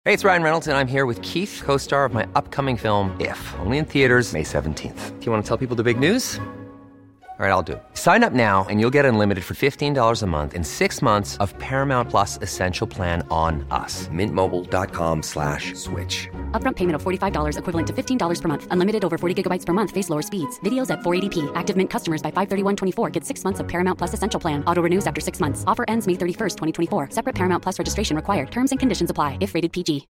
Hey, it's Ryan Reynolds, and I'm here with Keith, co-star of my upcoming film, If, only in theaters May 17th. Do you want to tell people the big news? All right, I'll do it. Sign up now and you'll get unlimited for $15 a month and 6 months of Paramount Plus Essential Plan on us. MintMobile.com/switch. Upfront payment of $45 equivalent to $15 per month. Unlimited over 40 gigabytes per month. Face lower speeds. Videos at 480p. Active Mint customers by 531.24 get 6 months of Paramount Plus Essential Plan. Auto renews after 6 months. Offer ends May 31st, 2024. Separate Paramount Plus registration required. Terms and conditions apply if rated PG.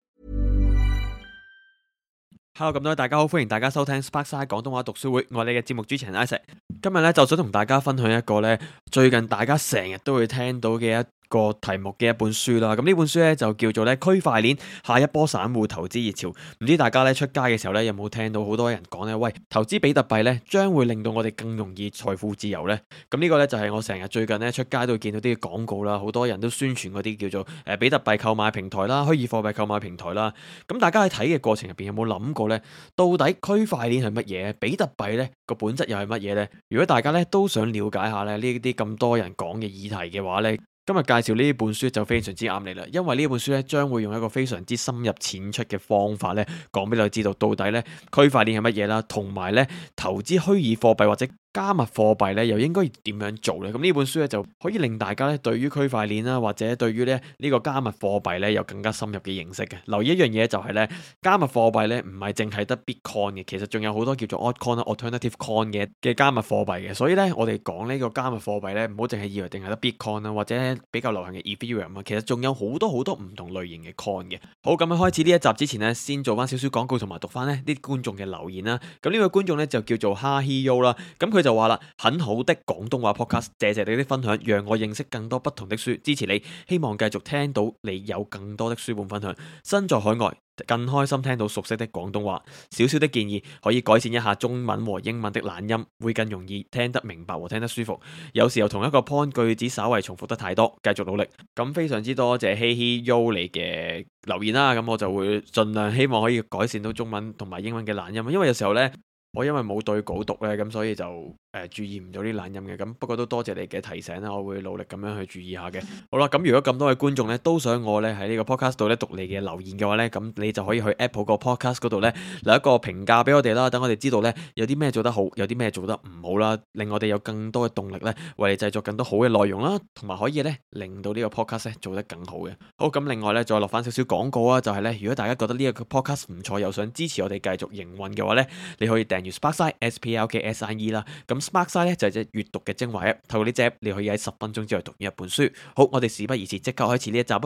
Hello， 咁多位大家好，歡迎大家收聽 Sparkside 廣東話讀書會，我係你嘅節目主持人 Isaac。今日咧就想同大家分享一個咧最近大家成日都會聽到嘅一個題目嘅一本書啦。咁呢本書咧就叫做咧區塊鏈下一波散戶投資熱潮。唔知大家咧出街嘅時候咧有冇聽到好多人講咧，喂，投資比特幣咧將會令到我哋更容易財富自由咧。咁呢個咧就係我成日最近咧出街都會見到啲廣告啦，好多人都宣傳嗰啲叫做比特幣購買平台啦、虛擬貨幣購買平台啦。咁大家喺睇嘅過程入邊有冇諗過咧，到底區塊鏈係乜嘢？比特幣咧個本質又係乜嘢咧？如果大家咧都想了解下咧呢啲咁多人講嘅議題嘅話咧，今日介紹呢本書就非常之啱你啦，因為呢本書咧將會用一個非常之深入淺出嘅方法咧，講俾你知道到底咧區塊鏈係乜嘢啦，同埋咧投資虛擬貨幣或者加密貨幣咧又應該點樣做咧？咁呢本書咧就可以令大家咧對於區塊鏈啦，或者對於咧呢個加密貨幣咧有更加深入嘅認識嘅。留意一樣嘢就係咧，加密貨幣咧唔係淨係得 Bitcoin 嘅，其實仲有好多叫做 Altcoin 啦、Alternative Coin 嘅加密貨幣嘅。所以咧我哋講呢個加密貨幣咧，唔好淨係以為淨係得 Bitcoin 啦，或者比較流行嘅 Ethereum 啊，其實仲有好多唔同類型嘅 coin 嘅。好，咁喺開始呢一集之前咧，先做翻少少廣告同埋讀翻呢啲觀眾嘅留言啦。咁呢位觀眾咧就叫做哈希優啦，咁佢就話啦，很好的廣東話 podcast， 謝謝你的分享，讓我認識更多不同的書，支持你，希望繼續聽到你有更多的書本分享。身在海外，更開心聽到熟悉的廣東話。少少的建議，可以改善一下中文和英文的懶音，會更容易聽得明白和聽得舒服。有時候同一個 point 句子稍為重複得太多，繼續努力。咁非常之多謝希希 Yo 你嘅留言啦，咁我就會盡量希望可以改善到中文同埋英文嘅懶音，因為有時候呢，我因為冇對稿讀呢，咁所以就注意唔到啲懶音嘅。咁不過都多謝你嘅提醒啦，我會努力咁樣去注意下嘅。好啦，咁如果咁多位觀眾呢都想我呢喺呢個 podcast 度呢讀你嘅留言嘅話呢，咁你就可以去 Apple 個 podcast 嗰度呢留一個評價俾我哋啦，等我哋知道呢有啲咩做得好，有啲咩做得唔好啦，令我哋有更多嘅動力呢為你製作更多好嘅內容啦，同埋可以呢令到呢個 podcast 呢做得更好嘅。好，咁另外呢再落翻少少廣告啊，就係呢如果大家覺得呢一個 podcast 唔錯，又想支持我哋繼續營運嘅話呢，你可以訂閱 Sparkside SPLKSIE 啦。咁 Sparkside 咧就係隻閱讀嘅精華 app， 透過呢隻 app 你可以喺10分鐘之內讀完一本書。好，我哋事不宜遲，即刻開始呢一集啊！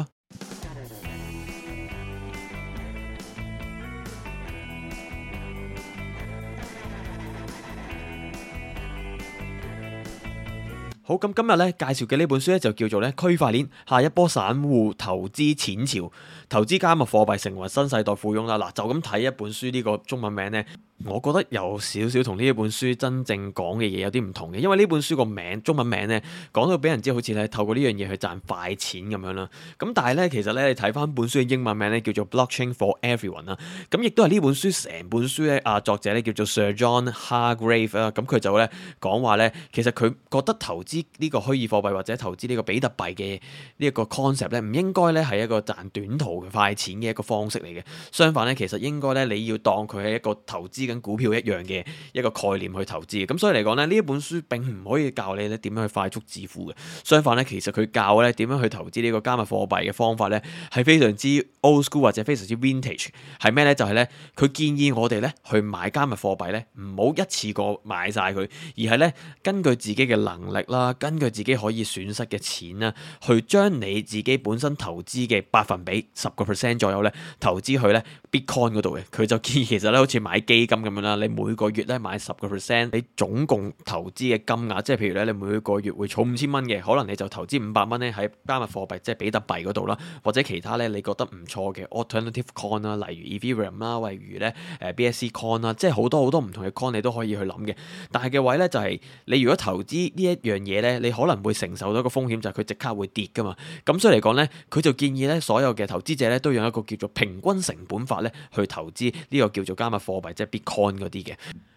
好，咁今日咧介紹嘅呢本書咧就叫做咧區塊鏈下一波散戶投資錢潮，投資加密貨幣成為新世代富翁啦。嗱，就咁睇一本書呢個中文名咧，我覺得有少少同呢一本書真正講嘅嘢有啲唔同嘅，因為呢本書個名中文名咧講到俾人知好似咧透過呢樣嘢去賺快錢咁樣啦。咁但係咧其實咧你睇翻本書嘅英文名咧叫做 Blockchain for Everyone 啦。咁亦都係呢本書成本書咧作者咧叫做 Sir John Hargrave 啦。咁佢就咧講話咧，其實佢覺得投資呢個虛擬貨幣或者投資呢個比特幣嘅呢一個 concept 咧，唔應該咧係一個賺短途嘅快錢嘅一個方式嚟嘅。相反咧，其實應該咧你要當佢係一個投資緊股票一樣嘅一個概念去投資嘅。咁所以嚟講咧，呢一本書並唔可以教你咧點樣去快速致富嘅。相反咧，其實佢教咧點樣去投資呢個加密貨幣嘅方法咧，係非常之 old school 或者非常之 vintage。係咩咧？就係咧，佢建議我哋咧去買加密貨幣咧，唔好一次過買晒佢，而係咧根據自己嘅能力啦，根據自己可以損失嘅錢啦，去將你自己本身投資嘅百分比10% 左右咧，投資去咧 Bitcoin 嗰度嘅。佢就建議其實咧，好似買基金咁樣啦，你每個月咧買10%，你總共投資嘅金額，即係譬如咧，你每個月會儲5000蚊嘅，可能你就投資500蚊咧喺加密貨幣，即係比特幣嗰度啦，或者其他咧你覺得唔錯嘅 Alternative Coin 啦，例如 Ethereum 啦，例如咧BSC Coin 啦，即係好多唔同嘅 Coin 你都可以去諗嘅。但係嘅位咧就係你如果投資呢一樣嘢咧，你可能會承受到一個風險，就係佢即刻會跌噶嘛。咁所以嚟講咧，佢就建議咧所有嘅投資者咧都用一個叫做平均成本法咧去投資呢個叫做加密貨幣，即係 Bitcoin 嗰啲嘅。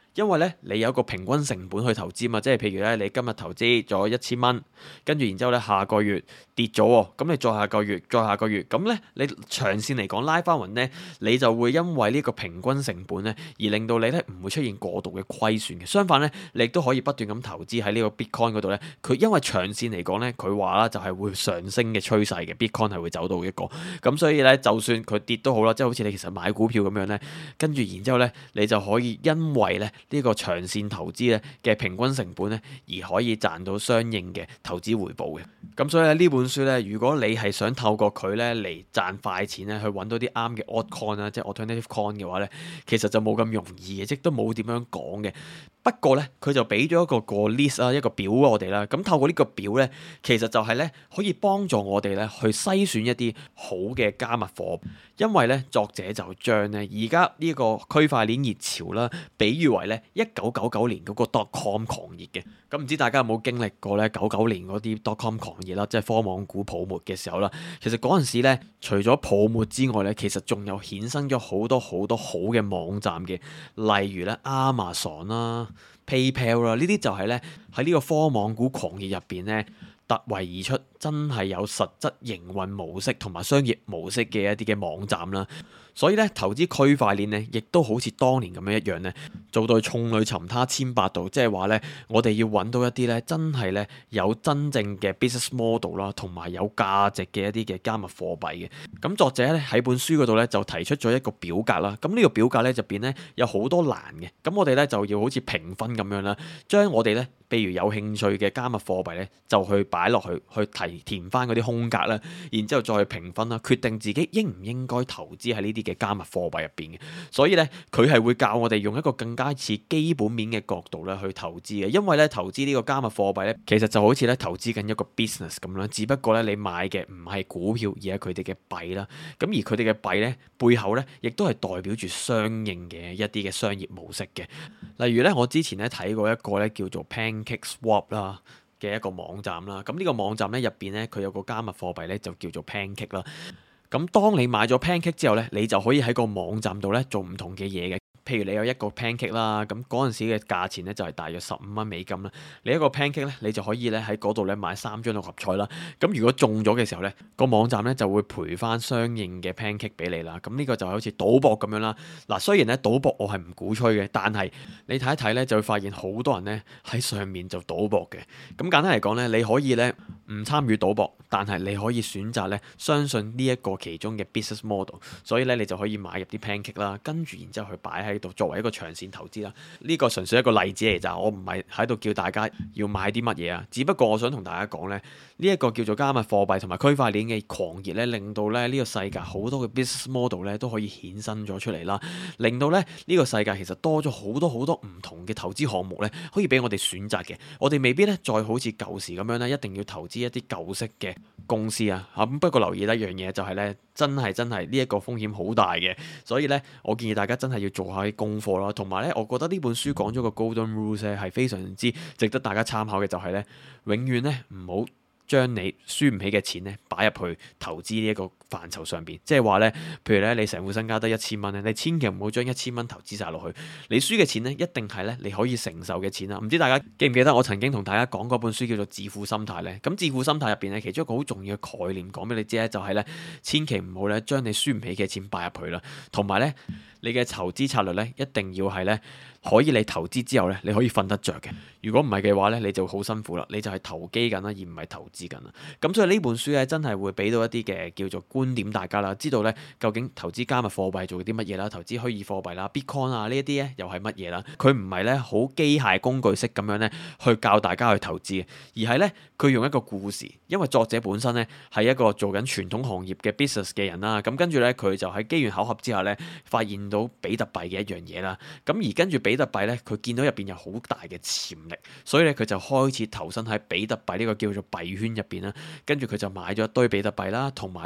因為咧你有一個平均成本去投資嘛，即係譬如咧你今日投資咗1000蚊，跟住然之後咧下個月跌咗喎，咁你再下個月，咁咧你長線嚟講拉翻勻咧，你就會因為呢個平均成本咧而令到你咧唔會出現過度嘅虧損嘅。相反咧，你亦都可以不斷咁投資喺呢個 Bitcoin 嗰度咧，佢因為長線嚟講咧，佢話啦就係會上升嘅趨勢嘅 Bitcoin 係會走到一個，咁所以咧就算佢跌都好啦，即係好似你其實買股票咁樣咧，跟住然之後咧你就可以因為咧呢個長線投資咧嘅平均成本咧而可以賺到相應嘅投資回報嘅。咁所以咧呢本書咧，如果你係想透過佢咧嚟賺快錢咧，去揾到啲啱嘅 altcoin 啦，即係 alternative coin 嘅話咧，其實就冇咁容易嘅，即都冇點樣講嘅。不過咧，佢就俾咗一個 list 啊，一個表我哋啦。咁透過呢個表咧，其實就係咧可以幫助我哋咧去篩選一啲好嘅加密貨幣。因為咧作者就將咧而家呢個區塊鏈熱潮啦，比喻為咧1999年嗰個 dotcom 狂熱嘅。咁唔知大家有冇經歷過咧99年嗰啲 dotcom 狂熱啦，即係科網股泡沫嘅時候啦。其實嗰陣時咧，除咗泡沫之外咧，其實仲有衍生咗好多好嘅網站嘅，例如咧 Amazon 啦、PayPal 啦，呢啲就係咧喺呢個科網股狂熱入邊咧突圍而出，真係有實質營運模式同埋商業模式嘅一啲嘅網站啦。所以咧，投資區塊鏈咧，亦都好似當年咁樣一樣咧，做到眾裏尋他千百度，即係話咧，我哋要揾到一啲咧，真係咧有真正嘅 business model 啦，同埋有價值嘅一啲嘅加密貨幣嘅。咁作者咧喺本書嗰度咧就提出咗一個表格啦。咁呢個表格咧入邊咧有好多欄嘅。咁我哋咧就要好似評分咁樣啦，將我哋咧譬如有興趣嘅加密貨幣咧，就去擺落去填翻嗰啲空格啦，然之後再去評分啦，決定自己應唔應該投資喺呢啲嘅加密貨幣入邊嘅。所以咧，佢係會教我哋用一個更加似基本面嘅角度咧去投資嘅。因為咧投資呢個加密貨幣咧，其實就好似咧投資緊一個 business 咁啦，只不過咧你買嘅唔係股票，而係佢哋嘅幣啦。咁而佢哋嘅幣咧背後咧，亦都係代表住相應嘅一啲嘅商業模式嘅。例如咧，我之前咧睇過一個咧叫做 PancakeSwap 啦嘅一個網站啦。咁呢個網站咧入邊咧，佢有個加密貨幣咧就叫做 Pancake 啦。咁當你買咗 Pancake 之後咧，你就可以喺個網站度咧做唔同嘅嘢嘅。譬如你有一個 pancake 啦，咁嗰陣時嘅價錢咧就係大約$15啦。你一個 pancake 咧，你就可以咧喺嗰度咧買3張六合彩啦。咁如果中咗嘅時候咧，個網站咧就會賠翻相應嘅 pancake 俾你啦。咁呢個就好似賭博咁樣啦。嗱，雖然咧賭博我係唔鼓吹嘅，但係你睇一睇咧就會發現好多人咧喺上面就賭博嘅。咁簡單嚟講咧，你可以咧唔參與賭博，但係你可以選擇咧相信呢一個其中嘅 business model，所以咧你就可以買入啲 pancake 啦，跟住然之後去擺喺度作為一個長線投資啦。呢個純粹一個例子嚟咋，我唔係喺度叫大家要買啲乜嘢啊，只不過我想同大家講咧，呢一個叫做加密貨幣同埋區塊鏈嘅狂熱咧，令到咧呢個世界好多嘅 business model 咧都可以衍生咗出嚟啦，令到咧呢個世界其實多咗好多唔同嘅投資項目咧，可以俾我哋選擇嘅。我哋未必咧再好似舊時咁樣咧，一定要投資一啲舊式嘅公司啊。咁不過留意一樣嘢就係咧，真係呢一個風險好大嘅，所以咧我建議大家真係要做下啲功課啦。同埋咧，我覺得呢本書講咗個 Golden Rules 咧係非常之值得大家參考嘅，就係咧永遠咧唔好將你輸唔起嘅錢咧擺入去投資呢一個範疇上邊，即係話咧，譬如咧你成副身家得1000蚊咧，你千祈唔好將1000蚊投資晒落去，你輸嘅錢咧一定係咧你可以承受嘅錢啦。唔知大家記唔記得我曾經同大家講嗰本書叫做《致富心態》咧？咁《致富心態》入邊咧，其中一個好重要嘅概念講俾你知咧，就係咧千祈唔好咧將你輸唔起嘅錢擺入去啦，同埋咧你嘅投資策略咧一定要係咧可以你投資之後咧你可以瞓得着嘅。如果唔係嘅話咧，你就好辛苦啦，你就係投機緊啦，而唔係投資緊啦。咁所以呢本書咧真係會俾到一啲嘅叫做觀點大家啦，知道咧究竟投資加密貨幣做啲乜嘢啦，投資虛擬貨幣啦 Bitcoin 啊呢一啲咧又係乜嘢啦。佢唔係咧好機械工具式咁樣咧去教大家去投資嘅，而係咧佢用一個故事，因為作者本身咧係一個做緊傳統行業嘅 business 嘅人啦。咁跟住咧佢就喺機緣巧合之下咧發現到比特幣嘅一樣嘢啦。咁而跟住比特幣咧佢見到入邊有好大嘅潛力，所以咧佢就開始投身喺比特幣呢個叫做幣圈入邊啦。跟住佢就買咗一堆比特幣啦，同埋咧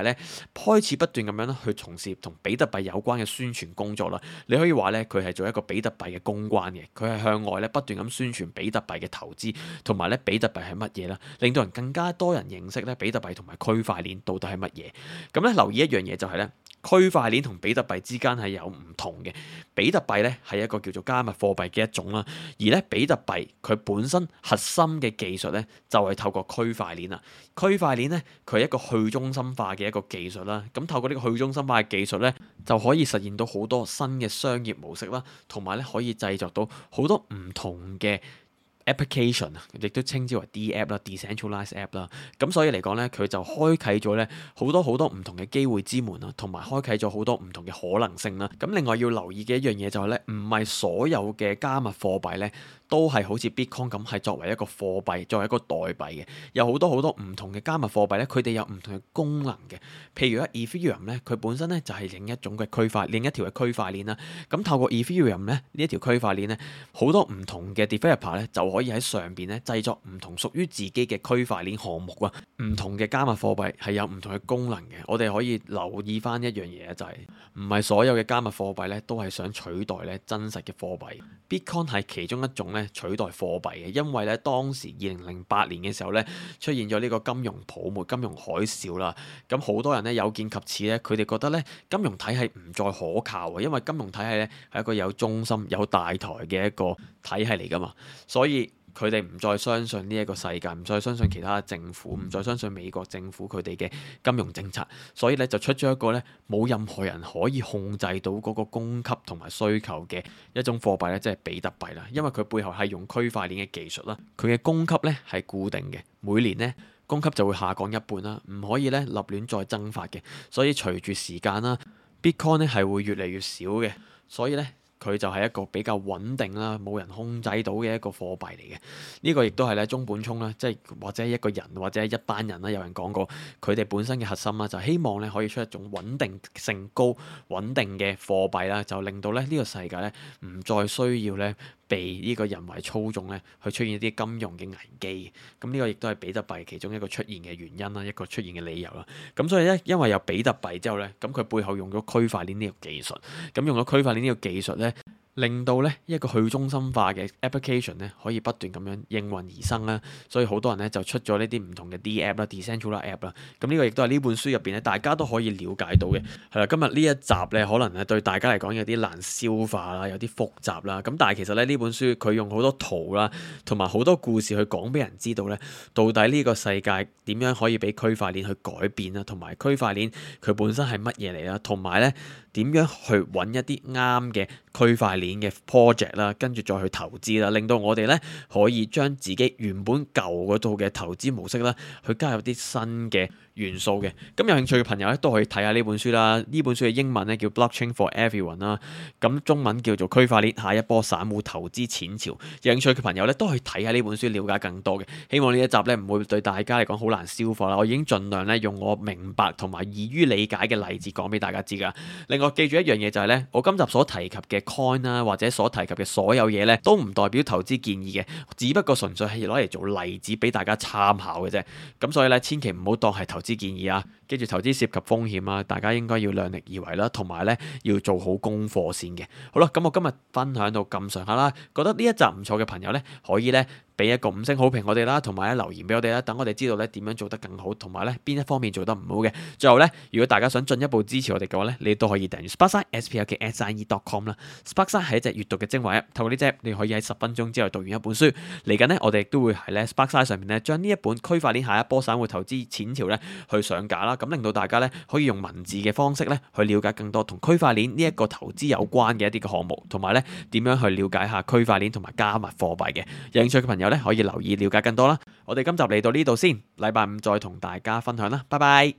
開始不斷咁樣咧去從事同比特幣有關嘅宣傳工作啦。你可以話咧佢係做一個比特幣嘅公關嘅，佢係向外咧不斷咁宣傳比特幣嘅投資同埋咧比特幣係乜嘢啦，令到人更加多人認識咧比特幣同埋區塊鏈到底係乜嘢。咁咧留意一樣嘢就係咧，區塊鏈同比特幣之間係有唔同嘅。比特幣咧係一個叫做加密貨幣嘅一種啦，而咧比特幣佢本身核心嘅技術咧就係透過區塊鏈啦。區塊鏈咧佢係一個去中心化嘅一個技術啦，咁透過呢個去中心化嘅技術咧就可以實現到好多新嘅商業模式啦，同埋咧可以製作到好多唔同嘅application 啊，亦都稱之為 D-App 啦 ，decentralized app 啦。咁所以嚟講咧，佢就開啟咗咧好多唔同嘅機會之門啊，同埋開啟咗好多唔同嘅可能性啦。咁另外要留意嘅一樣嘢就係咧，唔係所有嘅加密貨幣咧都係好似 Bitcoin 咁係作為一個貨幣，作為一個代幣嘅。有好多唔同嘅加密貨幣咧，佢哋有唔同嘅功能嘅。譬如Ethereum 咧，佢本身咧就係另一種嘅另一條嘅區塊鏈啦。咁透過 Ethereum 咧呢一條區塊鏈咧，好多唔同嘅 developer 咧就可以喺上邊咧製作唔同屬於自己嘅區塊鏈項目啊。唔同嘅加密貨幣係有唔同嘅功能嘅，我哋可以留意翻一樣嘢，就係唔係所有嘅加密貨幣咧都係想取代咧真實嘅貨幣。Bitcoin 係其中一種咧取代貨幣嘅，因為咧當時2008年嘅時候咧出現咗呢個金融泡沫、金融海嘯啦。咁好多人咧有見及此咧，佢哋覺得咧金融體系唔再可靠啊，因為金融體系咧係一個有中心、有大台嘅一個體系嚟噶嘛，所以佢哋唔再相信呢一個世界，唔再相信其他政府，唔再相信美國政府佢哋嘅金融政策，所以咧就出咗一個咧冇任何人可以控制到嗰個供給同埋需求嘅一種貨幣咧，即係比特幣啦。因為佢背後係用區塊鏈嘅技術啦，佢嘅供給咧係固定嘅，每年咧供給就會下降一半啦，唔可以咧立亂再增發嘅。所以隨住時間啦 ，Bitcoin 咧係會越嚟越少嘅，所以咧佢就係一個比較穩定啦，冇人控制到嘅一個貨幣嚟嘅。呢個亦都係咧中本聰啦，即係或者一個人或者一班人啦，有人講過佢哋本身嘅核心啦，就希望咧可以出一種穩定性高、穩定嘅貨幣啦，就令到咧呢個世界咧唔再需要咧被呢個人為操縱咧，去出現一啲金融嘅危機。咁呢個亦都係比特幣其中一個出現嘅原因啦，一個出現嘅理由啦。咁所以咧，因為有比特幣之後咧，咁佢背後用咗區塊鏈呢個技術，咁用咗區塊鏈呢個技術咧，令到咧一個去中心化嘅 application 咧可以不斷咁樣應運而生啦。所以好多人咧就出咗呢啲唔同嘅 D-App 啦、decentralized app 啦。咁呢個亦都係呢本書入邊咧大家都可以了解到嘅。係啦，今日呢一集咧可能係對大家嚟講有啲難消化啦，有啲複雜啦。咁但係其實咧呢本書佢用好多圖啦，同埋好多故事去講俾人知道咧，到底呢個世界點樣可以俾區塊鏈去改變啦，同埋區塊鏈佢本身係乜嘢嚟啦，同埋咧點樣去揾一啲啱嘅區塊鏈嘅 project 啦，跟住再去投資啦，令到我哋咧可以將自己原本舊嗰套嘅投資模式啦，去加入啲新嘅元素嘅。咁有興趣嘅朋友咧都可以睇下呢本書啦。呢本書嘅英文咧叫 Blockchain for Everyone 啦，咁中文叫做區塊鏈下一波散戶投資錢潮。有興趣嘅朋友咧都可以睇下呢本書，了解更多嘅。希望呢一集咧唔會對大家嚟講好難消化啦。我已經盡量咧用我明白同埋易於理解嘅例子講俾大家知噶。另外記住一樣嘢就係咧，我今集所提及嘅 coin 啦，或者所提及嘅所有嘢咧，都唔代表投資建議嘅，只不過純粹係攞嚟做例子俾大家參考嘅啫。咁所以咧，千祈唔好當係投資建議啊！記住投資涉及風險啊，大家應該要量力而為啦，同埋咧要做好功課先嘅。好啦，咁我今日分享到咁上下啦，覺得呢一集唔錯嘅朋友咧，可以咧俾一個5星好評我哋啦，同埋咧留言俾我哋啦，等我哋知道咧點樣做得更好，同埋咧邊一方面做得唔好嘅。最後咧，如果大家想進一步支持我哋嘅話咧，你都可以訂閱 Sparkside sparkside.com 啦。Sparkside 係一隻閱讀嘅精華 app， 透過呢隻 app 你可以喺10分鐘之內讀完一本書。嚟緊咧，我哋亦都會喺咧 Sparkside 上面咧將呢一本區塊鏈下一波散戶投資錢潮咧去上架啦，咁令到大家咧可以用文字嘅方式咧去了解更多同區塊鏈呢一個投資有關嘅一啲嘅項目，同埋咧點樣去了解下區塊鏈同埋加密貨幣嘅。有興趣嘅朋友咧可以留意了解更多啦。我哋今集嚟到呢度先，禮拜5再同大家分享啦，拜拜。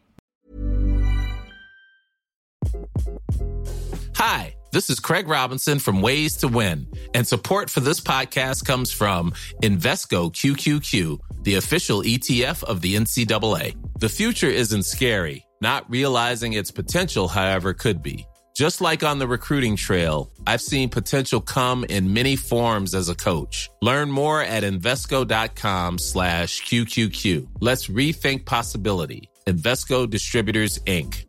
Hi, this is Craig Robinson from Ways to Win, and support for this podcast comes from Invesco QQQ, the official ETF of the NCAA. The future isn't scary. Not realizing its potential, however, could be. Just like on the recruiting trail, I've seen potential come in many forms as a coach. Learn more at Invesco.com/QQQ. Let's rethink possibility. Invesco Distributors, Inc.